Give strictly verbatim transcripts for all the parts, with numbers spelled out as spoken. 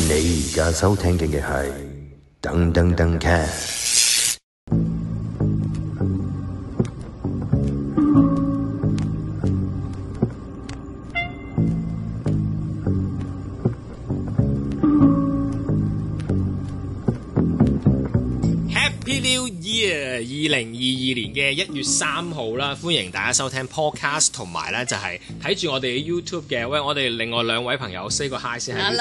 你而家收聽嘅係噔噔噔 cast。 New Year 二零二二年嘅一月三號啦，歡迎大家收聽 podcast 同埋咧就係睇住我哋嘅 YouTube 嘅。喂，我哋另外兩位朋友 say 個 hi 先喺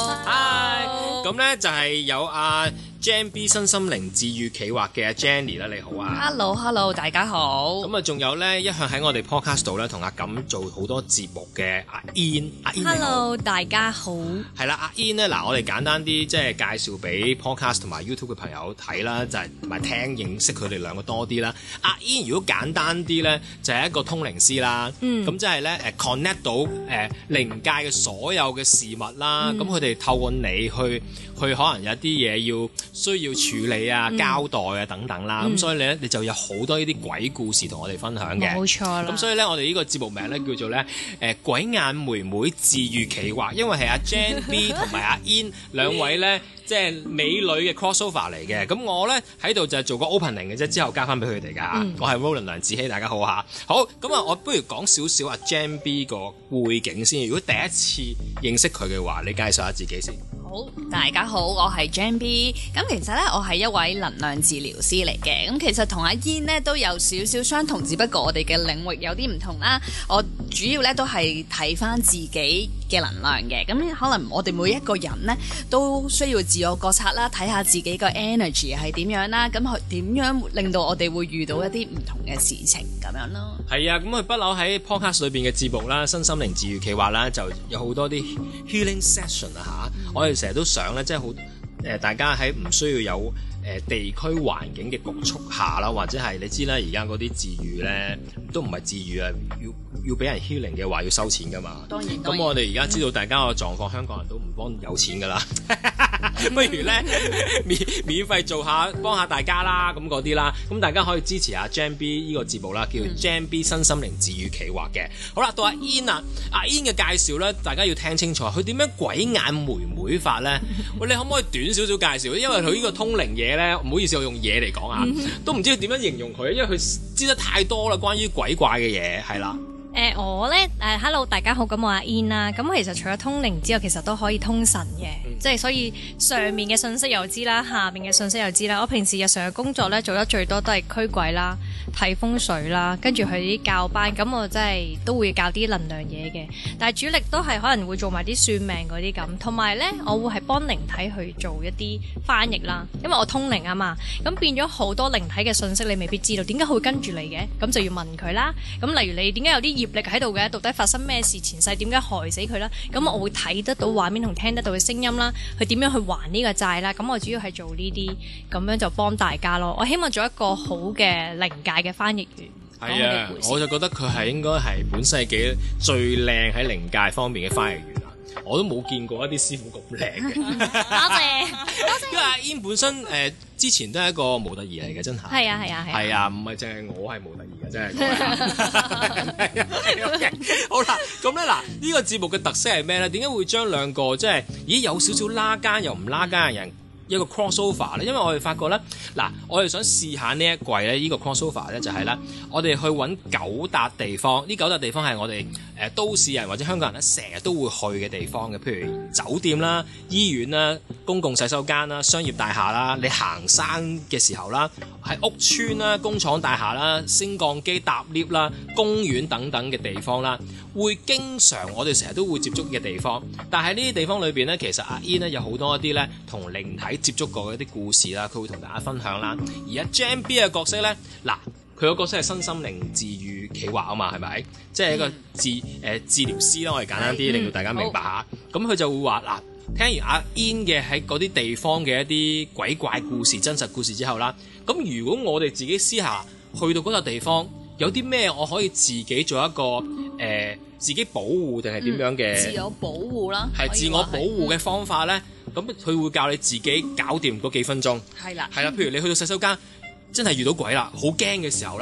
YouTube。Hi，咁咧就係有阿 Jam B 身心靈治愈企劃嘅阿 Jenny 啦，你好啊。 Hello，Hello， 大家好。 咁啊，仲有咧一向喺我哋 podcast 度咧同阿錦做好多節目嘅阿 In， 阿 In 你好。 Hello， 大家好。 係啦，阿 In 咧嗱，我哋簡單啲即係介紹俾 podcast 同埋 YouTube 嘅朋友睇啦，就係同埋聽認識佢哋兩個多啲啦。阿 In 如果簡單啲咧，就係、是、一個通靈師啦。嗯。咁即係咧誒 connect 到誒、呃、靈界嘅所有嘅事物啦。咁佢哋透過你去去可能有啲嘢要需要處理啊、嗯、交代啊等等啦。咁、嗯、所以咧你就有好多呢啲鬼故事同我哋分享嘅。 冇錯啦。 咁所以咧我哋呢個節目名咧叫做咧誒、呃、鬼眼妹妹治愈企劃，因為係阿 Jam B 同埋阿 In 兩位咧。即係美女嘅 crossover 嚟嘅，咁我咧喺度就係做個 opening 嘅啫，之後交翻俾佢哋㗎。嗯、我係 Roland 梁子希，大家好嚇。好，咁啊，我不如講少少阿 Jam B 個背景先。如果第一次認識佢嘅話，你介紹下自己先。 好，大家好，我係 Jam B。咁其實咧，我係一位能量治療師嚟嘅。咁其實同阿 In 咧都有少少相同，只不過我哋嘅領域有啲唔同啦。我主要咧都係睇翻自己嘅能量嘅。咁可能我哋每一個人咧都需要自我覺察啦，睇下自己個 energy 係點樣啦。咁佢點樣令到我哋會遇到一啲唔同嘅事情咁樣咯。係啊，咁佢不嬲喺 podcast 裏邊嘅節目啦，身心靈治愈企劃啦，就有好多啲 healing session 啊嚇。嗯、我哋成日都想咧，即係好誒，大家喺唔需要有誒、呃、地區環境嘅局促下啦，或者係你知啦，而家嗰啲治愈咧都唔係治愈啊，要要俾人 healing 嘅話要收錢噶嘛。當然，咁我哋而家知道大家個狀況，嗯、香港人都唔幫有錢噶啦，不如咧免免費做下幫下大家啦，咁嗰啲啦，咁大家可以支持下 Jam B 呢個節目啦，叫 Jam B 身心靈治愈企劃嘅。好啦，到阿 In 啊，阿 In 嘅介紹咧，大家要聽清楚，佢點樣鬼眼妹妹法咧？喂，你可唔可以短少少介紹？因為佢呢個通靈嘢咧，唔好意思，我用嘢嚟講啊，都唔知點樣形容佢，因為佢知得太多啦，關於鬼怪嘅嘢，係啦。 誒、呃、我咧誒、呃、hello 大家好，咁我阿 In 啦，咁其實除咗通靈之外，其實都可以通神嘅，嗯、即係所以上面嘅信息又知啦，下面嘅信息又知啦。我平時日常嘅工作咧做得最多都係驅鬼啦、睇風水啦，跟住去啲教班，咁我真係都會教啲能量嘢嘅，但係主力都係可能會做埋啲算命嗰啲咁，同埋咧我會係幫靈體去做一啲翻譯啦，因為我通靈啊嘛，咁變咗好多靈體嘅信息你未必知道，點解佢會跟住你嘅？咁就要問佢啦。咁例如你點解有啲業力喺度嘅，到底發生咩事？前世點解害死佢啦？咁我會睇得到畫面同聽得到嘅聲音啦，佢點樣去還呢個債啦？咁我主要係做呢啲，咁樣就幫大家咯。我希望做一個好嘅靈界嘅翻譯員。 係啊，我就覺得佢係應該係本世紀最靚喺靈界方面嘅翻譯員啊！我都冇見過一啲師傅咁靚嘅。多謝， 因為阿 In 本身誒、呃、之前都係一個模特兒嚟嘅，真係。係啊係啊係。 係啊，唔係淨係我係模特兒嘅，真係。好啦，咁咧嗱，呢、這個節目嘅特色係咩咧？點解會將兩個即係咦有少少拉間又唔拉間嘅人一個 crossover 咧？因為我哋發覺咧，嗱，我哋想試下呢一季咧，呢、這個 crossover 咧就係咧，我哋去揾九笪地方，呢九笪地方係我哋誒、呃、都市人或者香港人咧成日都會去嘅地方嘅，譬如酒店啦、醫院啦、公共洗手間啦、商業大廈啦，你行山嘅時候啦，喺屋邨啦、工廠大廈啦、升降機搭 lift 啦、公園等等嘅地方啦，會經常我哋成日都會接觸嘅地方。但係呢啲地方裏邊咧，其實阿 In 咧有好多一啲咧同靈體接觸過嘅一啲故事啦，佢會同大家分享啦。而阿 Jam B 嘅角色咧，嗱，佢個角色係身心靈治愈企劃啊嘛，係咪？即係一個治誒、呃、治療師啦，我哋簡單啲令到大家明白下。咁佢就會話嗱，聽完阿 In 嘅喺嗰啲地方嘅一啲鬼怪故事、真實故事之後啦，咁如果我哋自己私下去到嗰個地方，有啲咩我可以自己做一個誒、呃、自己保護定係點樣嘅、 嗯？自我保護啦， 係自我保護嘅方法咧。咁佢、嗯、會教你自己搞掂嗰幾分鐘。係啦，係啦。譬如你去到洗手間，真係遇到鬼啦，好驚嘅時候啦。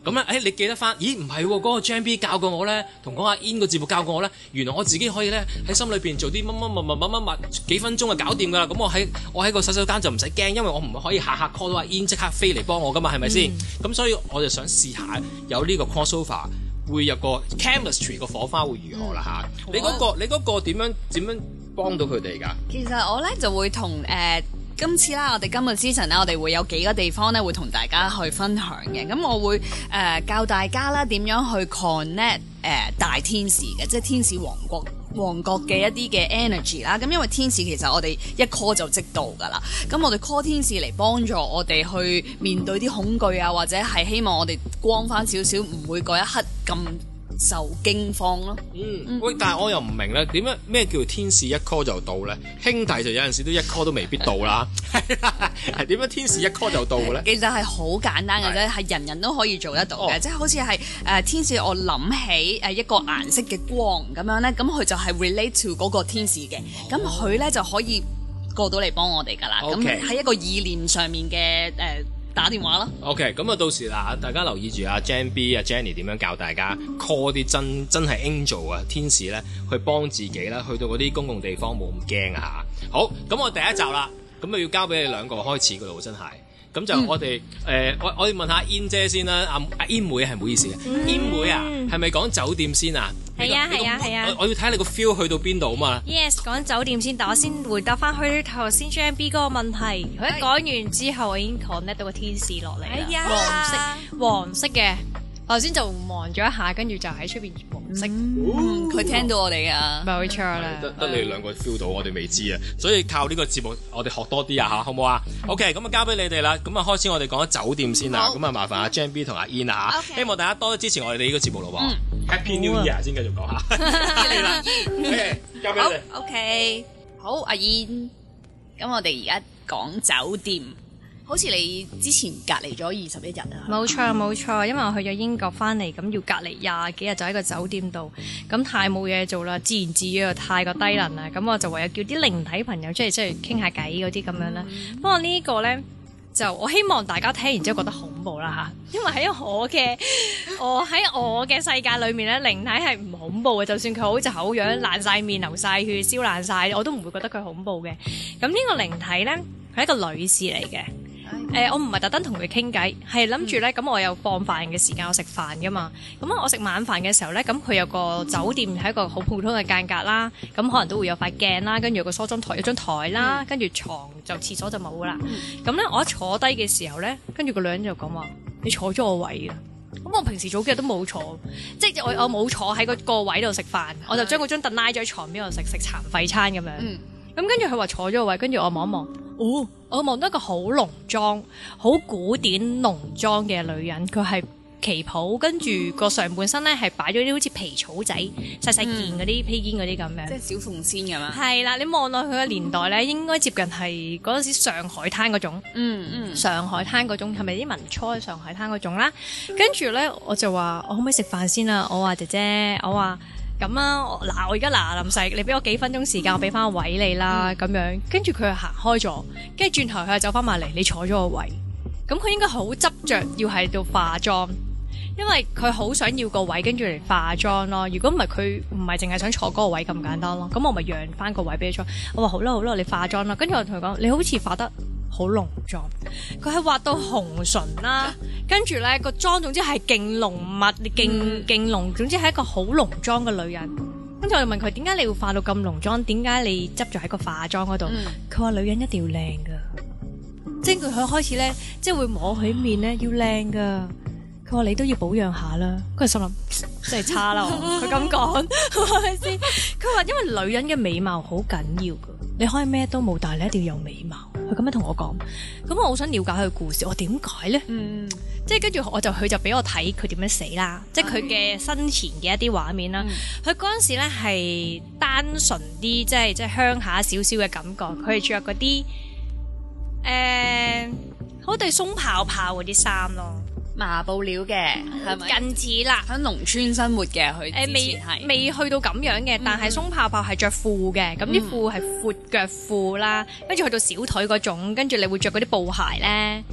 咁咧，誒、欸、你記得翻？咦唔係喎，嗰、那個 Jam B 教過我咧，同講阿 In 個節目教過我咧，原來我自己可以咧喺心裏邊做啲乜乜乜乜乜乜乜幾分鐘就搞掂㗎啦。咁我喺我喺個洗手間就唔使驚，因為我唔可以下下 call 到阿 In 即刻飛嚟幫我㗎嘛，係咪先？咁、嗯、所以我就想試下有呢個 crossover， 會有個 chemistry 個火花會如何啦嚇、嗯？你嗰、那個你嗰個點樣點樣幫到佢哋㗎？ 其實我咧就會同誒。呃今次啦，我哋今個 season 咧，我哋會有幾個地方咧，會同大家去分享嘅。咁我會誒、呃、教大家啦，點樣去 connect 誒、呃、大天使嘅，即係天使王國王國嘅一啲嘅 energy 啦。咁因為天使其實我哋一 call 就即到㗎啦。咁我哋 call 天使嚟幫助我哋去面對啲恐懼啊，或者係希望我哋光翻少少，唔會嗰一刻咁受驚慌咯。 嗯，喂，但係我又唔明咧，點樣咩叫天使一 call 就到咧？兄弟就有陣時都一 call 都未必到啦。係點樣天使一 call 就到嘅咧？ 其實係好簡單嘅啫，係人人都可以做得到嘅，即係好似係誒天使，我諗起誒一個顏色嘅光咁樣咧，咁佢就係 relate to 嗰個天使嘅，咁佢咧就可以過到嚟幫我哋噶啦。咁喺、okay. 一個意念上面嘅誒。呃打電話咯。OK， 咁啊到時嗱，大家留意住阿 Jam B 啊 Jenny 點樣教大家 call 啲真真係 angel 啊天使咧，去幫自己啦，去到嗰啲公共地方冇咁驚啊嚇。好，咁我第一集啦，咁啊要交俾你兩個開始噶咯，真係。咁就我哋誒、嗯呃，我我哋問下 In 姐先啦，阿阿 In 妹係唔好意思嘅、嗯、，In 妹啊，係咪講酒店先啊？ 係啊係啊係啊！ 我要睇下你個 feel 去到邊度啊嘛。Yes， 講酒店先，但我先回答翻去頭先 Jam B 嗰個問題。佢一講完之後，我已經 connect 到個天使落嚟啦。係啊，黃色黃色嘅。頭先就望咗一下，跟住就喺出邊黃色。佢、 嗯嗯、聽到我哋噶， 冇錯啦。 得得你哋兩個 feel 到，我哋未知啊。所以靠呢個節目，我哋學多啲啊吓，好唔好啊 ？OK，咁啊交俾你哋啦。咁啊開始我哋講酒店先啦。咁啊麻煩阿 Jam B 同阿 In 啊吓，希望大家多啲支持我哋呢個節目咯。嗯 Happy New Year 先繼續講下。係啦，OK，交俾你。 OK，好，阿 In，咁我哋而家講酒店。好似你之前隔離咗二十一日啊？ 冇錯冇錯，因為我去咗英國翻嚟，咁要隔離廿幾日就喺個酒店度，咁太冇嘢做啦，自言自語又太過低能啦，咁我就唯有叫啲靈體朋友出嚟出嚟傾下偈嗰啲咁樣啦。不過呢個咧就我希望大家聽完之後覺得恐怖啦嚇，因為喺我嘅我喺我嘅世界裏面咧，靈體係唔恐怖嘅，就算佢好醜樣爛晒面流晒血燒爛晒，我都唔會覺得佢恐怖嘅。咁呢個靈體咧係一個女士嚟嘅。誒、呃，我唔係特登同佢傾偈，係諗住咧，咁我有放飯嘅時間，我食飯噶嘛。咁啊，我食晚飯嘅時候咧，咁佢有個酒店係一個好普通嘅間隔啦，咁可能都會有塊鏡啦，跟住有個梳妝台，有張台啦，跟住床就廁所就冇啦。咁咧，我一坐低嘅時候咧，跟住個女人就講話：你坐咗我位啊！咁我平時早幾日都冇坐，即係我我冇坐喺個個位度食飯，我就將嗰張凳拉咗喺床邊度食食殘廢餐咁樣。咁跟住佢話坐咗個位，跟住我望一望。哦，我望到一個好濃妝、好古典濃妝嘅女人，佢係旗袍，跟住個上半身咧係擺咗啲好似皮草仔、細細件嗰啲披肩嗰啲咁樣， 即係小鳳仙咁樣。係啦，你望落去嘅年代咧，應該接近係嗰陣時上海灘嗰種，嗯嗯，上海灘嗰種係咪啲民初上海灘嗰種啦？跟住咧，我就話我可唔可以食飯先啊？我話姐姐，我話。咁啊，嗱，我而家嗱臨食，你俾我幾分鐘時間，我俾翻個位你啦，咁、嗯、樣，跟住佢就行開咗，跟住轉頭佢就走翻埋嚟，你坐咗個位，咁佢應該好執着要喺度化妝，因為佢好想要個位跟住嚟化妝咯。如果唔係佢唔係淨係想坐嗰個位咁簡單咯，咁我咪讓翻個位俾你坐。我話好啦好啦，你化妝啦，跟住我同佢講，你好似化得好濃妝，佢係畫到紅唇啦，跟住咧個妝總之係勁濃密，勁勁濃，總之係一個好濃妝嘅女人。跟住我就問佢點解你會化到咁濃妝？點解你執咗喺個化妝嗰度？佢、嗯、話女人一定要靚噶，即係佢開始咧，即係會摸佢面咧要靚噶。佢話你都要保養下啦。佢心諗真係差啦，佢咁講係咪先？佢話因為女人嘅美貌好緊要噶，你可以咩都冇，但係你一定要有美貌。佢咁樣同我講，咁我好想了解佢嘅故事。我點解咧？嗯，即係跟住我就佢就俾我睇佢點樣死啦，即係佢嘅生前嘅一啲畫面啦。佢嗰陣時咧係單純啲，即係即係鄉下少少嘅感覺。佢係着嗰啲誒，好對鬆泡泡嗰啲衫咯。 麻布料嘅係咪近似啦？ 喺農村生活嘅佢誒未未去到咁樣嘅，但係鬆泡泡係着褲嘅，咁啲褲係闊腳褲啦，跟住去到小腿嗰種，跟住你會着嗰啲布鞋咧，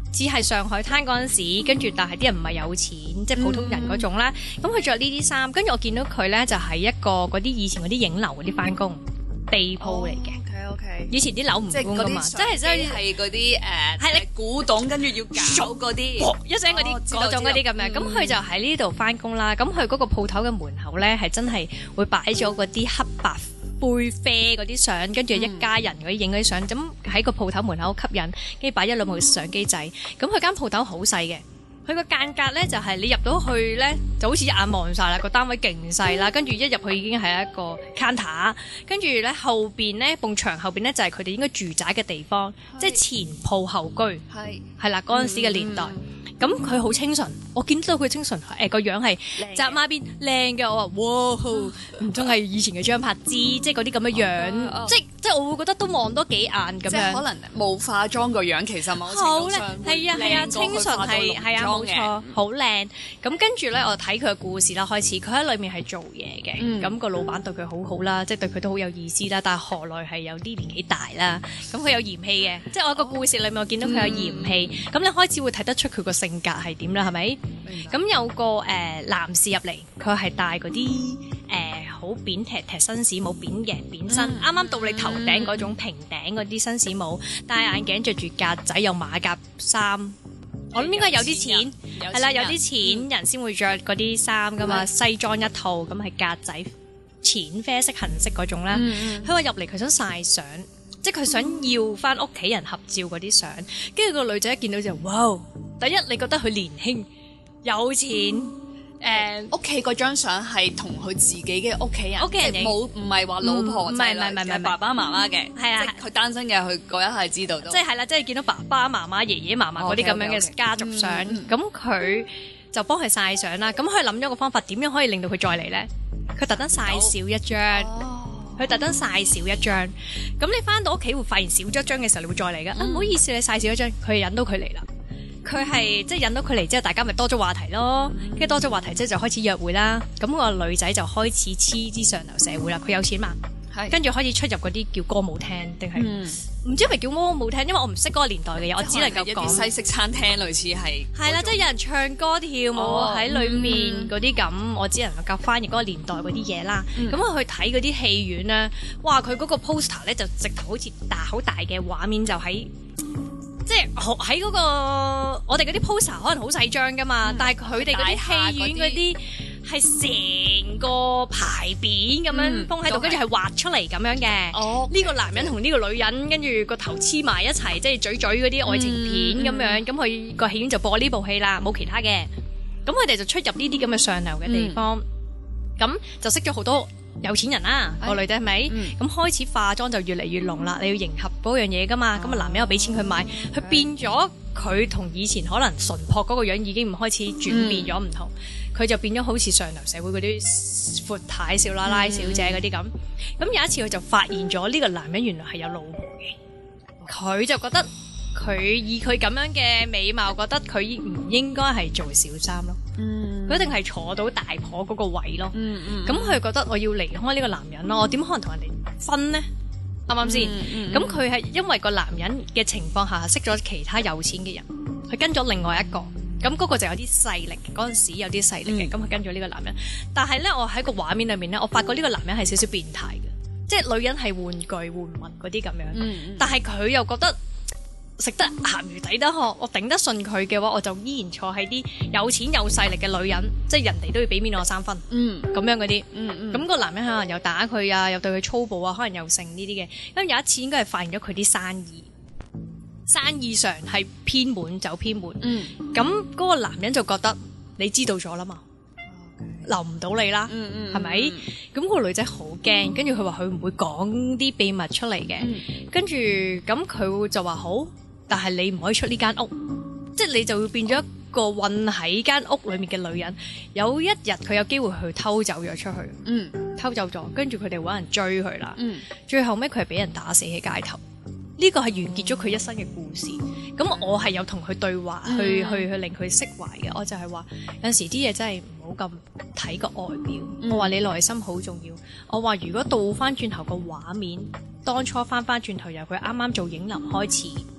只係上海灘嗰陣時，跟住但係啲人唔係有錢，即係普通人嗰種啦。咁佢着呢啲衫，跟住我見到佢咧就係一個嗰啲以前嗰啲影樓嗰啲翻工地鋪嚟嘅。 OK OK， 以前啲樓唔即係搬噶嘛， 嗰啲即係真係係嗰啲誒係你古董，跟住要搞嗰啲一聲嗰啲哦知道嗰種嗰啲咁樣。 知道咁佢就喺呢度翻工啦。咁佢嗰個鋪頭嘅門口咧係真係會擺咗嗰啲黑白杯啡嗰啲相，跟住一家人嗰啲影嗰啲相，咁喺個鋪頭門口吸引，跟住擺一兩部相機仔。咁佢間鋪頭好細嘅，佢個間隔咧就係你入到去咧就好似一眼望晒啦，個單位勁細啦，跟住一入去已經係一個 counter，跟住咧後邊咧埲牆後邊咧就係佢哋應該住宅嘅地方，即係前鋪後居， 係係啦嗰陣時嘅年代。咁佢好清純，我見到佢清純，誒個樣係紮孖辮靚嘅，我話哇，唔通係以前嘅張柏芝，即係嗰啲咁嘅樣，即即係我會覺得都望多幾眼咁樣。 即係可能冇化妝個樣，其實某程好靚度上， 係啊係啊，清純係係啊冇錯，好靚。咁跟住咧，我睇佢嘅故事啦，開始佢喺裏面係做嘢嘅，咁個老闆對佢好好啦，即係對佢都好有意思啦。但係何來係有啲年紀大啦，咁佢有嫌棄嘅，即係我個故事裏面我見到佢有嫌棄，咁你開始會睇得出佢個性性格係點啦，係咪？咁有個誒、呃、男士入嚟，佢係戴嗰啲誒好扁踢踢紳士帽，扁嘅扁身，啱啱、嗯、到你頭頂嗰種平頂嗰啲紳士帽，戴眼鏡，着住格仔，有馬甲衫。我諗應該有啲錢，係啦，有啲錢人先會着嗰啲衫噶嘛，嗯、西裝一套咁係格仔，淺啡色、杏色嗰種啦。佢話入嚟佢想曬相。即係佢想要翻屋企人合照嗰啲相，跟住個女仔一見到就哇！第一你覺得佢年輕有錢，誒屋企嗰張相係同佢自己嘅屋企人， 屋企人冇唔係話老婆， 唔係唔係唔係唔係爸爸媽媽嘅， 係啊， 即係佢單身嘅，佢嗰一係知道到， 即係係啦，即係見到爸爸媽媽、爺爺嫲嫲嗰啲咁樣嘅家族相，咁佢就幫佢曬相啦。咁佢諗咗個方法，點樣可以令到佢再嚟咧？佢特登曬少一張。佢特登曬少一張，咁你翻到屋企會發現少咗一張嘅時候，你會再嚟噶。嗯、啊，唔好意思，你曬少一張，佢引到佢嚟啦。佢係即係引到佢嚟之後，大家咪多咗話題咯。跟住、嗯、多咗話題之後就開始約會啦。咁、個女仔就開始黐啲上流社會啦。佢有錢嘛？係。跟住開始出入嗰啲叫歌舞廳，定係唔知係咪叫歌舞廳？因為我唔識嗰個年代嘅嘢，我只能夠講西式餐廳類似係。係啦，即係有人唱歌跳舞喺裏面嗰啲咁，我只能夠翻譯嗰個年代嗰啲嘢啦。咁我去睇嗰啲戲院咧，哇！佢嗰個 poster 咧就直頭好似大好大嘅畫面，就喺即係喺嗰個我哋嗰啲 poster 可能好細張噶嘛，但係佢哋嗰啲戲院嗰啲係成個牌匾咁樣封喺度，跟住係畫出嚟咁樣嘅。哦，呢個男人同呢個女人跟住個頭黐埋一齊，即係嘴嘴嗰啲愛情片咁樣。咁佢個戲院就播呢部戲啦，冇其他嘅。咁佢哋就出入呢啲咁嘅上流嘅地方，咁就識咗好多有錢人啦。個女仔係咪？咁開始化妝就越嚟越濃啦。你要迎合嗰樣嘢噶嘛。咁啊，男人又俾錢佢買，佢變咗佢同以前可能純樸嗰個樣已經唔開始轉變咗唔同。佢就變咗好似上流社會嗰啲闊太少奶奶小姐嗰啲咁。咁有一次佢就發現咗呢個男人原來係有老婆嘅。佢就覺得佢以佢咁樣嘅美貌，覺得佢唔應該係做小三咯。佢一定係坐到大婆嗰個位咯。咁佢覺得我要離開呢個男人咯，我點可能同人哋分呢？啱唔啱先？咁佢係因為個男人嘅情況下識咗其他有錢嘅人，佢跟咗另外一個。咁嗰個就有啲勢力，嗰陣時有啲勢力嘅，咁佢、嗯、跟咗呢個男人。但係咧，我喺個畫面裏面咧，我發覺呢個男人係少少變態嘅，即係女人係玩具玩物嗰啲咁樣。嗯、但係佢又覺得食得鹹魚抵得渴，我頂得順佢嘅話，我就依然坐喺啲有錢有勢力嘅女人，即係人哋都要俾面我三分。嗯，咁樣嗰啲。嗯嗯。咁個男人可能又打佢啊，又對佢粗暴啊，可能又剩呢啲嘅。咁有一次應該係發現咗佢啲生意。生意上係偏門走偏門，咁嗰個男人就覺得你知道咗啦嘛，留唔到你啦，係咪？咁個女仔好驚，跟住佢話佢唔會講啲秘密出嚟嘅，跟住咁佢就話好，但係你唔可以出呢間屋，即係你就會變咗一個困喺間屋裏面嘅女人。有一日佢有機會去偷走咗出去，偷走咗，跟住佢哋搵人追佢啦，最後尾佢係俾人打死喺街頭。呢個係完結咗佢一生嘅故事。咁我係有同佢對話，嗯、去去去令佢釋懷嘅。我就係話有陣時啲嘢真係唔好咁睇個外表。嗯、我話你內心好重要。我話如果倒翻轉頭個畫面，當初翻翻轉頭由佢啱啱做影樓開始，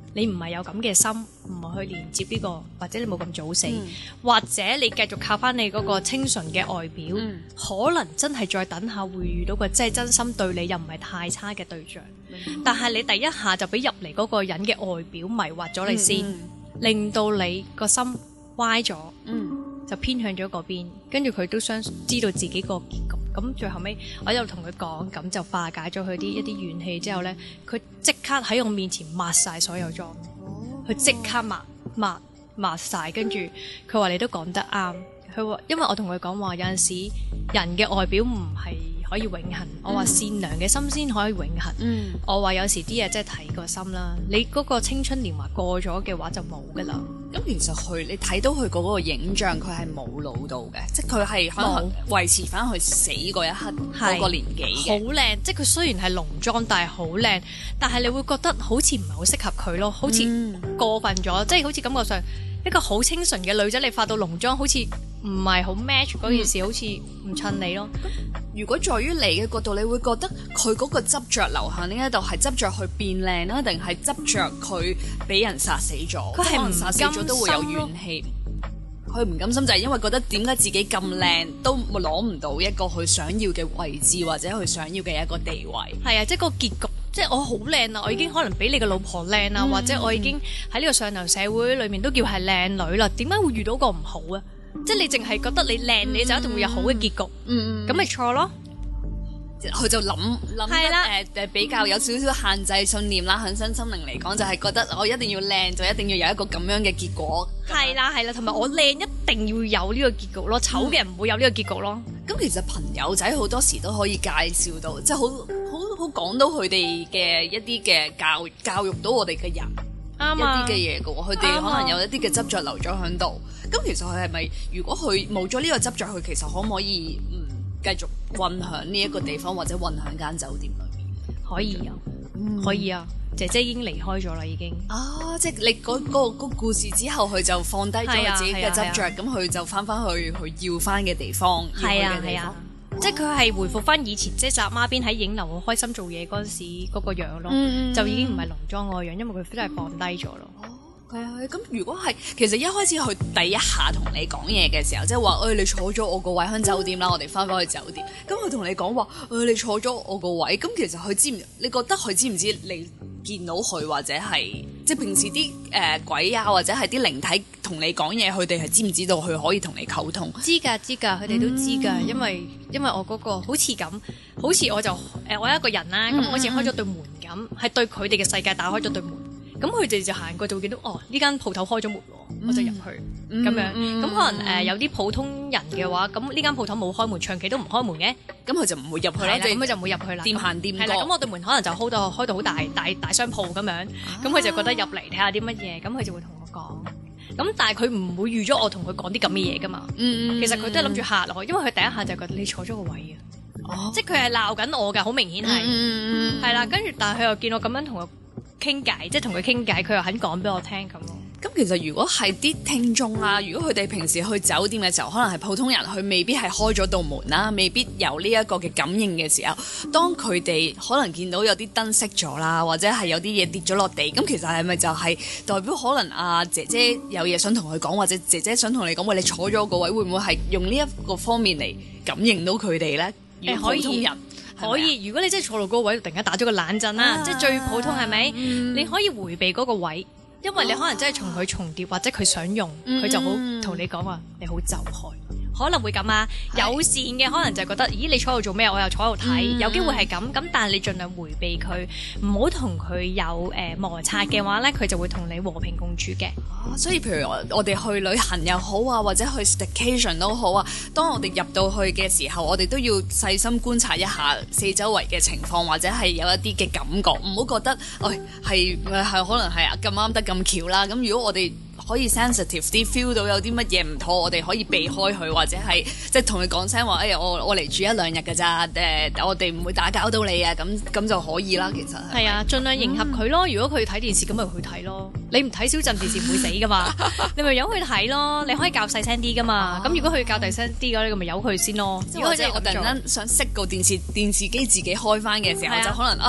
你唔係有咁嘅心，唔係去連接呢個，或者你冇咁早死， 嗯或者你繼續靠翻你嗰個清純嘅外表， 嗯可能真係再等下會遇到個真係真心對你又唔係太差嘅對象。但係你第一下就俾入嚟嗰個人嘅外表迷惑咗你先， 嗯令到你個心歪咗， 嗯就偏向咗嗰邊，跟住佢都想知道自己個結局。咁最後尾，我又同佢講，咁就化解咗佢啲一啲怨氣之後呢，佢即刻喺我面前抹晒所有妝，佢即刻抹抹抹晒，跟住佢話你都講得啱，佢話因為我同佢講話有陣時人嘅外表唔係可以永恆，我話善良嘅心先可以永恆， 嗯我話有時啲嘢真係睇個心啦，你嗰個青春年華過咗嘅話就冇噶啦。 咁其實佢你睇到佢嗰個影像，佢係冇老到嘅，即係佢係可能維持翻佢死嗰一刻嗰個年紀好嘅。 靚，即係佢雖然係濃妝，但係好靚，但係你會覺得好似唔係好適合佢咯，好似嗯過分咗，即係好似感覺上一個好清純嘅女仔，你化到濃妝，好似唔係好 match 嗰件事，好似唔襯你咯。 如果在於你嘅角度，你會覺得佢嗰個執着流向呢一度係執着去變靚啦，定係執着佢俾人殺死咗？ 佢係唔可能殺死咗都會有怨氣。佢唔甘心就係因為覺得點解自己咁靚都攞唔到一個佢想要嘅位置，或者佢想要嘅一個地位。 係啊，即係個結局，即係我好靚啊！我已經可能比你嘅老婆靚啦， 嗯或者我已經喺呢個上流社會裏面都叫係靚女啦。點解會遇到個唔好啊？即係你淨係覺得你靚，你就一定會有好嘅結局， 嗯咁咪錯咯。 佢就諗諗係啦得誒誒比較有少少限制信念啦，喺身心靈嚟講就係覺得我一定要靚，就一定要有一個咁樣嘅結果。 係啦係啦，同埋我靚一定要有呢個結局咯，醜嘅人唔會有呢個結局咯。 咁其實朋友仔好多時都可以介紹到，即係好好好講到佢哋嘅一啲嘅教教育到我哋嘅人一啱啊啲嘅嘢嘅喎，佢哋啱啊可能有一啲嘅執着留咗喺度。咁其實佢係咪如果佢冇咗呢個執着，佢其實可唔可以嗯繼續混響呢一個地方，或者混響間酒店裏面？ 可以啊，可以啊，姐姐已經離開咗啦，已經。 啊！即係你嗰、嗰個嗰個故事之後，佢就放低咗係啊佢自己嘅執着，咁佢、就翻翻去佢要翻嘅地方，要去係啊嘅地方係啊。，即係佢係回復翻以前，即係扎孖邊喺影樓好開心做嘢嗰陣時嗰個樣咯， 嗯就已經唔係濃妝嗰個樣，因為佢真係放低咗咯。 係啊，咁如果係其實一開始佢第一下同你講嘢嘅時候，即係話誒你坐咗我個位喺酒店啦，我哋翻返去酒店。咁佢同你講話誒你坐咗我個位，咁其實佢知唔？你覺得佢知唔知你見到佢，或者係即係平時啲誒、呃、鬼啊，或者係啲靈體同你講嘢，佢哋係知唔知道佢可以同你溝通？ 知㗎知㗎，佢哋都知㗎，因為因為我嗰、個好似咁，好似我就誒、呃、我一個人啦，咁、 嗯好似開咗對門咁，係對佢哋嘅世界打開咗對門。咁佢哋就行過就會見到哦，呢間鋪頭開咗門喎，我就入去咁、 嗯樣。咁、 嗯可能誒、呃、有啲普通人嘅話，咁呢間鋪頭冇開門，長期都唔開門嘅， 咁佢就唔會入去啦， 係啦， 即係咁佢就唔會入去啦。 掂行掂係啦， 過咁我對門可能就 hold 到開到好大大大商鋪咁樣，咁佢、就覺得入嚟睇下啲乜嘢，咁佢就會同我講。咁但係佢唔會預咗我同佢講啲咁嘅嘢噶嘛。 嗯其實佢都係諗住嚇我，因為佢第一下就覺得你坐咗個位啊， 哦即係佢係鬧緊我㗎，好明顯係嗯係啦。跟住但係佢又見我咁樣同佢傾偈，即係同佢傾偈，佢又肯講俾我聽咁咯。 咁其實如果係啲聽眾啊，如果佢哋平時去酒店嘅時候，可能係普通人，佢未必係開咗道門啦，未必有呢一個嘅感應嘅時候，當佢哋可能見到有啲燈熄咗啦，或者係有啲嘢跌咗落地，咁其實係咪就係代表可能啊姐姐有嘢想同佢講，或者姐姐想同你講，喂，你坐咗個位，會唔會係用呢一個方面嚟感應到佢哋咧？ 誒可以普通人可以，如果你真係坐到嗰個位，突然間打咗個冷震啦， 啊即係最普通係咪？ 嗯你可以迴避嗰個位，因為你可能真係同佢重疊，或者佢想用，佢、就好同你講話，你好走開。可能會咁啊，友善嘅可能就係覺得，咦你坐喺度做咩？我又坐喺度睇， 嗯有機會係咁。咁但係你盡量迴避佢，唔好同佢有誒、呃、摩擦嘅話咧，佢就會同你和平共處嘅。 啊所以譬如我我哋去旅行又好啊，或者去 staycation 都好啊，當我哋入到去嘅時候，我哋都要細心觀察一下四周圍嘅情況，或者係有一啲嘅感覺，唔好覺得，誒係係可能係啊咁啱得咁巧啦。咁如果我哋可以 sensitive 啲 feel 到有啲乜嘢唔妥，我哋可以避開佢，或者係即係同佢講聲話，哎呀我我嚟住一兩日㗎咋，誒、呃、我哋唔會打攪到你啊，咁咁就可以啦。其實係係啊，盡量迎合佢咯。如果佢睇電視，咁咪去睇咯。你唔睇小鎮電視唔會死噶嘛，你咪由佢睇咯。你可以較細聲啲噶嘛。咁、如果佢較大聲啲嘅，你咁咪由佢先咯。 即係或者如果佢真係咁做我突然間想熄個電視電視機自己開翻嘅時候， 係啊就可能啊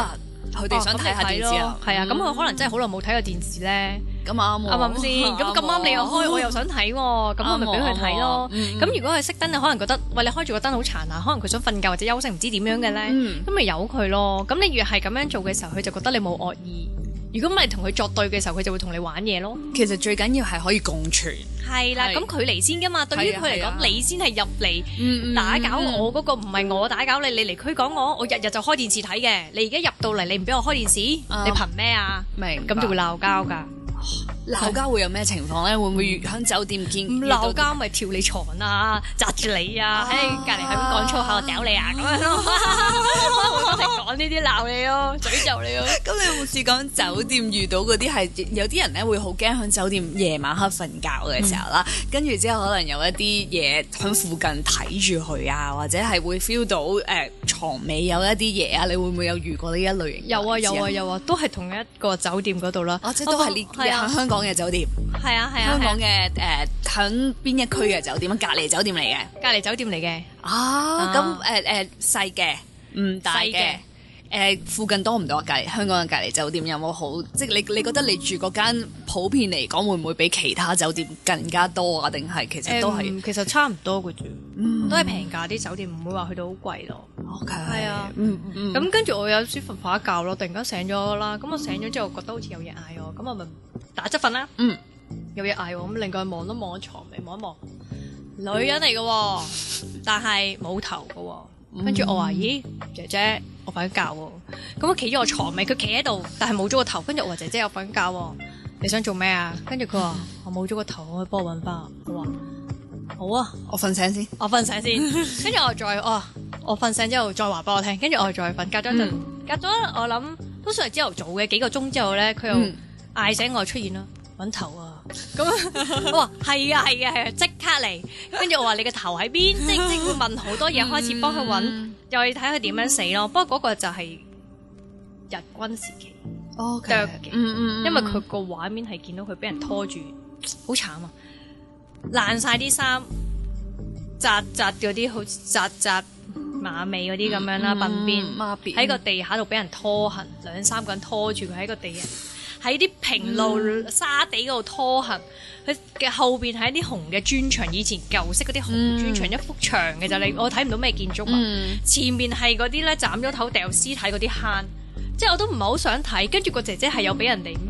佢哋想睇下電視啊， 係啊，咁佢可能真係好耐冇睇過電視咧。 咁啱喎， 啱唔啱先？咁咁啱你又開，我又想睇喎，咁我咪俾佢睇咯。咁如果佢熄燈，你可能覺得喂，你開住個燈好殘啊，可能佢想瞓覺或者休息，唔知點樣嘅咧，咁咪由佢咯。咁你越係咁樣做嘅時候，佢就覺得你冇惡意。如果唔係同佢作對嘅時候，佢就會同你玩嘢咯。 其實最緊要係可以共存。 係啦，咁佢嚟先噶嘛。對於佢嚟講，你先係入嚟打攪我嗰個，唔係我打攪你。你嚟驅趕我，我日日就開電視睇嘅。你而家入到嚟，你唔俾我開電視，你憑咩啊？ 明咁就會鬧交㗎。 鬧交會有咩情況咧？會唔會喺酒店見？ 唔鬧交咪跳你床啊，擲住你啊，喺隔離係咁講粗口，屌你啊咁樣咯，我成講呢啲鬧你咯，詛咒你咯。 咁你有冇試過酒店遇到嗰啲係有啲人咧會好驚喺酒店夜晚黑瞓覺嘅時候啦，跟住之後可能有一啲嘢喺附近睇住佢啊，或者係會 feel 到誒牀尾有一啲嘢啊，你會唔會有遇過呢一類型？ 有啊有啊有啊，都係同一個酒店嗰度啦。 哦，即係都係呢喺香港嘅酒店。 係啊係啊， 香港嘅誒響邊一區嘅酒店？隔離酒店嚟嘅， 隔離酒店嚟嘅。 啊，咁誒誒細嘅，唔大嘅。誒附近多唔多？隔離香港嘅隔離酒店有冇好？即係你你覺得你住嗰間普遍嚟講會唔會比其他酒店更加多啊？定係其實都係、 嗯、其實差唔多嘅啫，嗯、都係平價啲酒店，唔會話去到好貴咯。 OK， 係啊， 嗯嗯。 咁跟住我有少瞓瞓一覺咯，突然間醒咗啦。咁我醒咗之後覺得好似有嘢嗌我，咁我咪打側瞓啦。嗯，有嘢嗌我，咁另外望一望床尾，望一望，女人嚟嘅喎，但係冇頭嘅喎。跟住我話：咦，姐姐，我瞓緊覺喎。咁我企咗我床尾，佢企喺度，但係冇咗個頭。跟住我話：姐姐，我瞓緊覺喎，你想做咩啊？跟住佢話：我冇咗個頭，可以幫我揾翻。我話：好啊， 我瞓醒先， 我瞓醒先。跟住我再，哦，我瞓醒之後再話俾我聽。跟住我再瞓，隔咗一陣，嗯、隔咗我諗都算係朝頭早嘅幾個鐘之後咧，佢又嗌醒我出現啦。揾頭啊！咁我話係啊係啊係啊，即刻嚟。跟住我話你個頭喺邊？即即會問好多嘢，開始幫佢揾，嗯、又要睇佢點樣死咯。不過嗰個就係日軍時期 ，OK， 嘅， 嗯嗯， 因為佢個畫面係見到佢俾人拖住，好慘啊！爛晒啲衫，紮紮嗰啲好紮紮馬尾嗰啲咁樣啦，鬢邊喺個地下度俾人拖行，兩三個人拖住佢喺個地下。喺啲平路、嗯、沙地嗰度拖行，佢嘅後邊係一啲紅嘅磚牆，以前舊式嗰啲紅磚牆，嗯、一幅牆嘅就你我睇唔到咩建築物。嗯、前面係嗰啲咧斬咗頭掉屍體嗰啲坑，即係我都唔係好想睇。跟住個姐姐係有俾人哋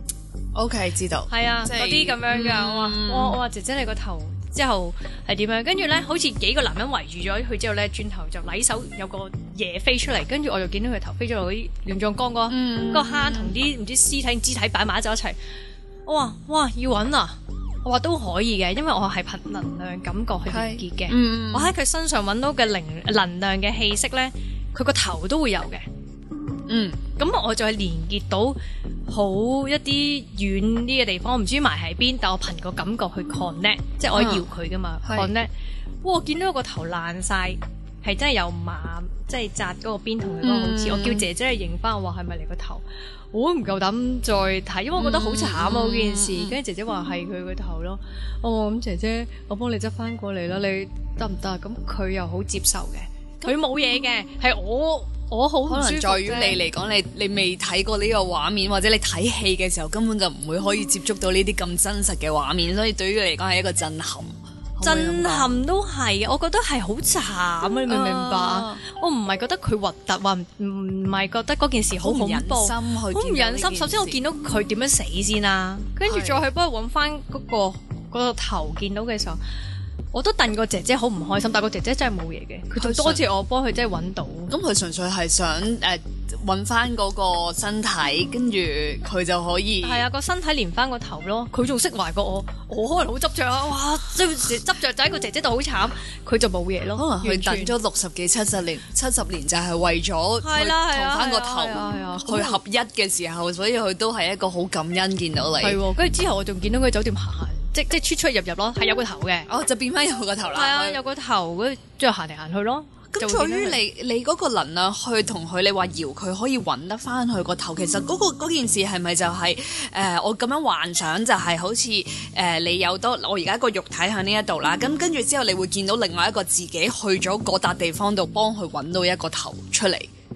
，OK 知道，係啊嗰啲咁樣㗎。嗯、我話我我話姐姐你個頭。之後係點樣？跟住咧，好似幾個男人圍住咗佢之後咧，轉頭就禮手有個嘢飛出嚟，跟住我就見到佢頭飛咗落啲亂葬崗嗰、嗯、個坑同啲唔知屍體肢體擺埋咗一齊。我話哇要揾啊！我話都可以嘅，因為我係憑能量感覺去連結嘅。嗯、我喺佢身上揾到嘅靈能量嘅氣息咧，佢個頭都會有嘅。嗯，咁我就係連結到好一啲遠啲嘅地方，我唔知埋喺邊，但我憑個感覺去 connect，即係我搖佢噶嘛 connect。哇，我見到個頭爛晒，係真係有馬，即係紮嗰個邊同佢嗰個好似。嗯、我叫姐姐去認翻，我話係咪你個頭？我都唔夠膽再睇，因為我覺得好慘啊嗰件事。跟住、嗯、姐姐話係佢個頭咯。哦，咁姐姐，我幫你執翻過嚟啦，你得唔得？咁佢又好接受嘅，佢冇嘢嘅，係我。我好可能在於你嚟講，你你未睇過呢個畫面，或者你睇戲嘅時候根本就唔會可以接觸到呢啲咁真實嘅畫面，所以對於你嚟講係一個震撼。 震撼都係，我覺得係好慘啊！你明唔明白？啊、我唔係覺得佢核突，話唔唔係覺得嗰件事好恐怖，好唔忍心。首先我見到佢點樣死先啦，跟住再去幫佢揾翻嗰個嗰、嗰個頭，見到嘅時候。我都戥個姐姐好唔開心，但個姐姐真係冇嘢嘅，佢就多謝我幫佢真係揾到。 咁佢純粹係想誒揾翻嗰個身體，跟住佢就可以係啊個身體連翻個頭咯。佢仲釋懷過我，我可能好執着啊！哇，即係執着就喺個姐姐度好慘，佢就冇嘢咯。 可能佢等咗六十幾七十年，七十年就係為咗去同翻個頭去合一嘅時候，所以佢都係一個好感恩見到你。 係，跟住之後我仲見到佢喺酒店行。即即出出入入咯，係有個頭嘅， 哦就變翻有個頭啦。 係啊，有個頭，跟住之後行嚟行去咯。 咁在於你你嗰個能量去同佢，你話搖佢可以揾得翻佢個頭，其實嗰、嗰個嗰件事係咪就係、是、誒、呃、我咁樣幻想就係好似誒、呃、你有多我而家個肉體喺呢一度啦，咁跟住之後你會見到另外一個自己去咗嗰笪地方度幫佢揾到一個頭出嚟。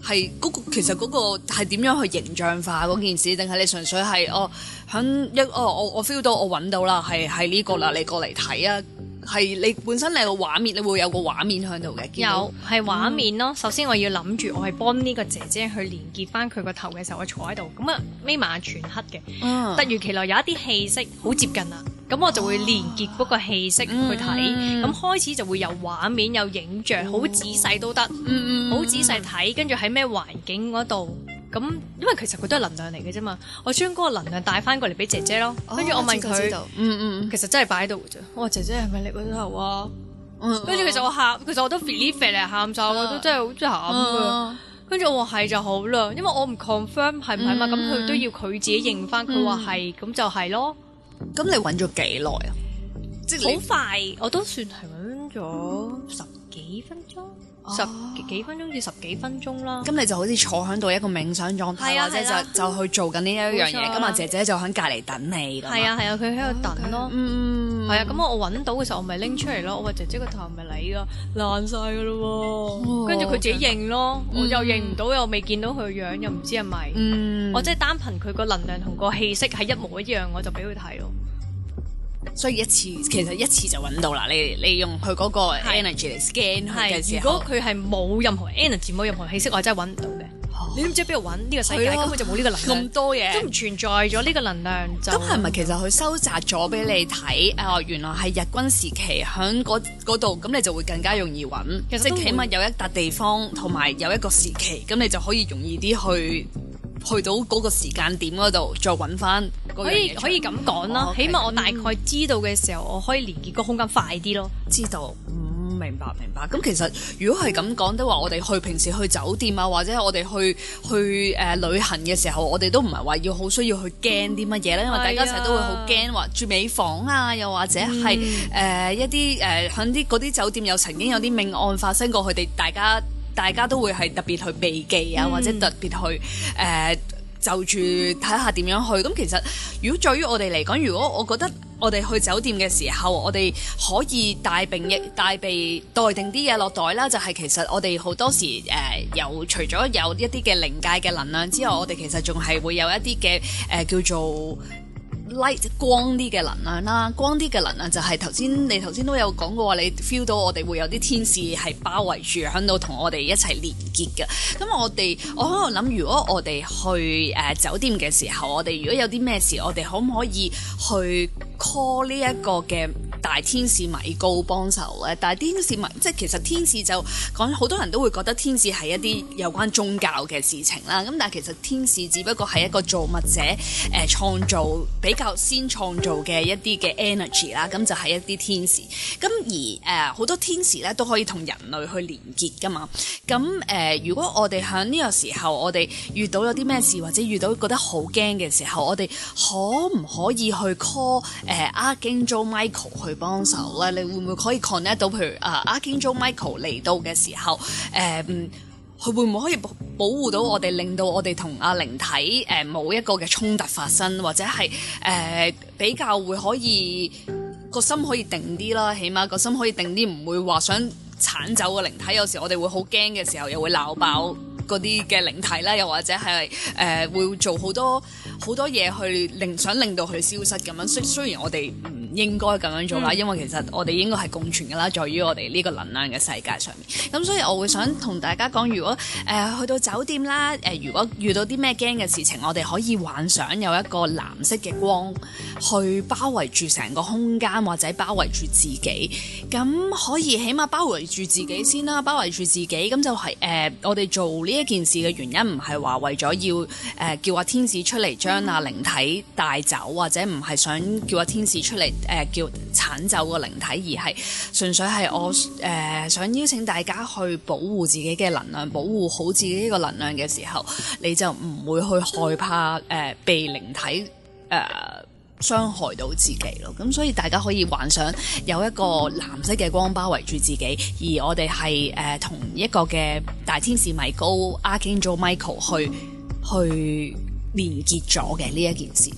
係嗰、嗰個其實嗰個係點樣去形象化嗰件事，定係你純粹係哦響一哦我我 feel 到我揾到啦，係係呢個啦，你過嚟睇啊！係你本身你個畫面，你會有個畫面喺度嘅。 有係畫面咯。嗯、首先我要諗住我係幫呢個姐姐去連結翻佢個頭嘅時候，我坐喺度咁啊，眯埋眼全黑嘅。嗯、突如其來有一啲氣息好接近啦，咁我就會連結嗰個氣息去睇。咁、嗯、開始就會有畫面有影像，好、嗯、仔細都得。好、嗯、仔細睇，跟住喺咩環境嗰度。咁，因為其實佢都係能量嚟嘅啫嘛，我將嗰個能量帶翻過嚟俾姐姐咯。跟住、哦、我問佢，嗯嗯，其實真係擺喺度嘅啫。我話姐姐係咪你嗰頭啊？跟住、嗯、其實我喊，其實我都 feel feel 嚟喊晒，我都真係好慘㗎。跟住、嗯、我話係就好啦，因為我唔 confirm 係唔係嘛，咁佢、嗯、都要佢自己認翻，佢話係，咁就係咯。 咁你揾咗幾耐啊？即係好快，我都算係揾咗十幾分鐘。十幾分鐘至十幾分鐘啦，咁你就好似坐喺度一個冥想狀態，或者就就去做緊呢一樣嘢。咁啊，姐姐就喺隔離等你。係啊係啊，佢喺度等咯。嗯，係啊。咁我我揾到嘅時候，我咪拎出嚟咯。我話姐姐個頭係咪你㗎？爛晒㗎咯喎。跟住佢自己認咯，我又認唔到，又未見到佢樣，又唔知係咪。嗯，我即係單憑佢個能量同個氣息係一模一樣，我就俾佢睇咯。 所以一次其實一次就揾到啦，你你用佢嗰個 energy 嚟 scan 佢嘅時候， 如果佢係冇任何 energy 冇任何氣息，我真係揾唔到嘅。哦、你都唔知邊度揾呢個世界根本就冇呢個能量， 咁多嘢都唔存在咗呢個能量。咁係咪其實佢收集咗俾你睇？啊、呃，原來係日軍時期喺嗰度，咁你就會更加容易揾。其實起碼有一笪地方同埋有一個時期，咁你就可以容易啲去去到嗰個時間點嗰度再揾翻。 可以可以咁講啦，哦 okay，起碼我大概知道嘅時候，嗯、我可以連結個空間快啲咯。 知道，嗯，明白明白。咁其實如果係咁講，都話我哋去平時去酒店啊，或者我哋去去誒、呃、旅行嘅時候，我哋都唔係話要好需要去驚啲乜嘢咧，因為大家成日都會好驚話住尾房啊，又或者係誒、嗯呃、一啲誒響啲嗰啲酒店又曾經有啲命案發生過，佢哋大家大家都會係特別去避忌啊，嗯、或者特別去誒。呃就住睇下點樣去，咁其實如果在於我哋嚟講，如果我覺得我哋去酒店嘅時候，我哋可以帶並亦帶備待定啲嘢落袋啦。就係、是、其實我哋好多時誒、呃，有除咗有一啲嘅靈界嘅能量之外，我哋其實仲係會有一啲嘅誒叫做light 光啲嘅能量啦，光啲嘅能量就係頭先你頭先都有講過話，你 feel 到我哋會有啲天使係包圍住喺度同我哋一齊連結嘅。咁我哋我喺度諗，如果我哋去誒、呃、酒店嘅時候，我哋如果有啲咩事，我哋可唔可以去 call 呢一個嘅大天使米高幫手咧？大天使米即係其實天使就講好多人都會覺得天使係一啲有關宗教嘅事情啦。咁但係其實天使只不過係一個造物者誒、呃、創造比較先創造嘅一啲嘅 energy 啦，咁就係一啲天使。咁而誒好、呃、多天使咧都可以同人類去連結噶嘛。咁誒、呃、如果我哋喺呢個時候，我哋遇到有啲咩事，或者遇到覺得好驚嘅時候，我哋可唔可以去 call 誒、呃、Archangel Michael 去幫手咧？你會唔會可以 connect 到？譬如啊、呃、Archangel Michael 嚟到嘅時候，誒、呃。佢會唔會可以保保護到我哋，令到我哋同阿靈體誒冇、呃、一個嘅衝突發生，或者係誒、呃、比較會可以個心可以定啲啦，起碼個心可以定啲，唔會話想剷走個靈體。有時我哋會好驚嘅時候，又會鬧爆嗰啲嘅靈體啦，又或者係誒、呃、會做好多好多嘢去令想令到佢消失咁樣。雖雖然我哋唔應該咁樣做啦，嗯、因為其實我哋應該係共存㗎啦，在於我哋呢個能量嘅世界上面。咁所以我會想同大家講，如果誒、呃、去到酒店啦，誒、呃、如果遇到啲咩驚嘅事情，我哋可以幻想有一個藍色嘅光去包圍住成個空間，或者包圍住自己。咁可以起碼包圍住自己先啦，包圍住自己。咁就係、是、誒、呃、我哋做呢一件事嘅原因，唔係話為咗要誒、呃、叫阿天使出嚟將阿靈體帶走，或者唔係想叫阿天使出嚟。誒、呃、叫剷走個靈體，而係純粹係我誒、呃、想邀請大家去保護自己嘅能量，保護好自己呢個能量嘅時候，你就唔會去害怕誒、呃、被靈體誒、呃、傷害到自己咯。咁所以大家可以幻想有一個藍色嘅光包圍住自己，而我哋係誒同一個嘅大天使米高 Archangel Michael 去去連結咗嘅呢一件事咯。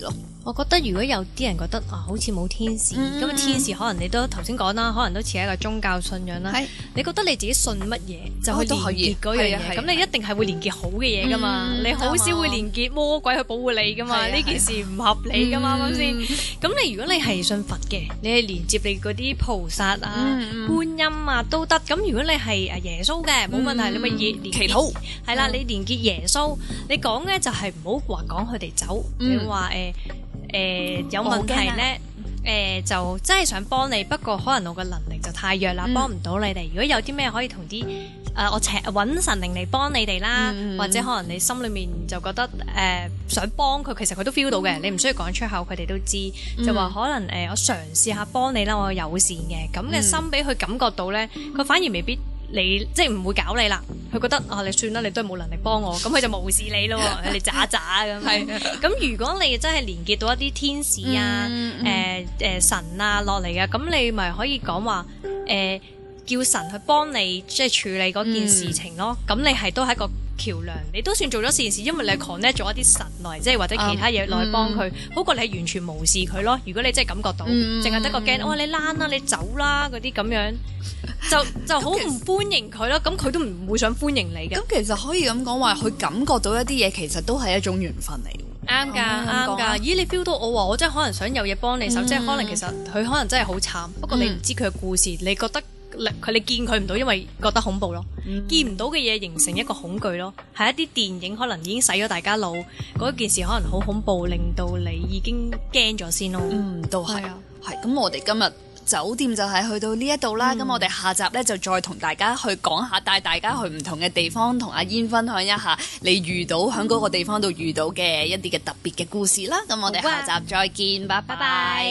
我覺得如果有啲人覺得啊，好似冇天使，咁啊、嗯、天使可能你都頭先講啦，可能都似一個宗教信仰啦。係，你覺得你自己信乜嘢就去連結嗰樣嘢，咁你一定係會連結好嘅嘢噶嘛？嗯、你好少會連結魔鬼去保護你噶嘛？呢件事唔合理噶嘛？啱唔啱先？咁你如果你係信佛嘅，你係連接你嗰啲菩薩啊、嗯、觀音啊都得。咁如果你係誒耶穌嘅，冇問題，嗯、你咪連連祈禱係啦，你連結耶穌，你講咧就係唔好話講佢哋走，嗯、你話誒。呃誒、呃、有問題咧，誒、呃、就真係想幫你，不過可能我嘅能力就太弱啦，嗯、幫唔到你哋。如果有啲咩可以同啲誒我請揾神靈嚟幫你哋啦，嗯、或者可能你心裏面就覺得誒、呃、想幫佢，其實佢都 feel 到嘅，你唔需要講出口，佢哋都知。嗯、就話可能誒、呃、我嘗試下幫你啦，我友善嘅咁嘅心俾佢感覺到咧，佢反而未必。你即係唔會搞你啦，佢覺得啊，你算啦，你都係冇能力幫我，咁佢就無視你咯，你渣渣咁。係咁，如果你真係連結到一啲天使啊、誒誒、嗯嗯呃呃、神啊落嚟嘅，咁你咪可以講話誒叫神去幫你即係處理嗰件事情咯。咁、嗯、你係都係一個橋樑，你都算做咗善事，因為你 connect 咗一啲神來，即係或者其他嘢來幫佢，嗯、好過你係完全無視佢咯。如果你真係感覺到，淨係得個驚，哇你躝啦，你走啦嗰啲咁樣。就就好唔歡迎佢咯，咁佢都唔會想歡迎你嘅。 咁其實可以咁講話，佢感覺到一啲嘢，其實都係一種緣分嚟。 啱㗎，啱㗎。咦，你 feel 到我話我真係可能想有嘢幫你手，嗯、即係可能其實佢可能真係好慘，不過你唔知佢嘅故事，你覺得佢你見佢唔到，因為覺得恐怖咯，嗯、見唔到嘅嘢形成一個恐懼咯，係一啲電影可能已經洗咗大家腦，嗰件事可能好恐怖，令到你已經驚咗先咯。嗯， 都係啊，係咁，我哋今日酒店就係去到呢一度啦，咁、嗯、我哋下集呢，就再同大家去講下，帶大家去唔同嘅地方，同阿煙分享一下你遇到喺嗰個地方度遇到嘅一啲嘅特別嘅故事啦。咁我哋下集再見，拜拜。拜拜。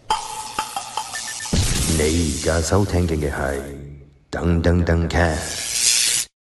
你而家收聽嘅係噔噔噔 cast。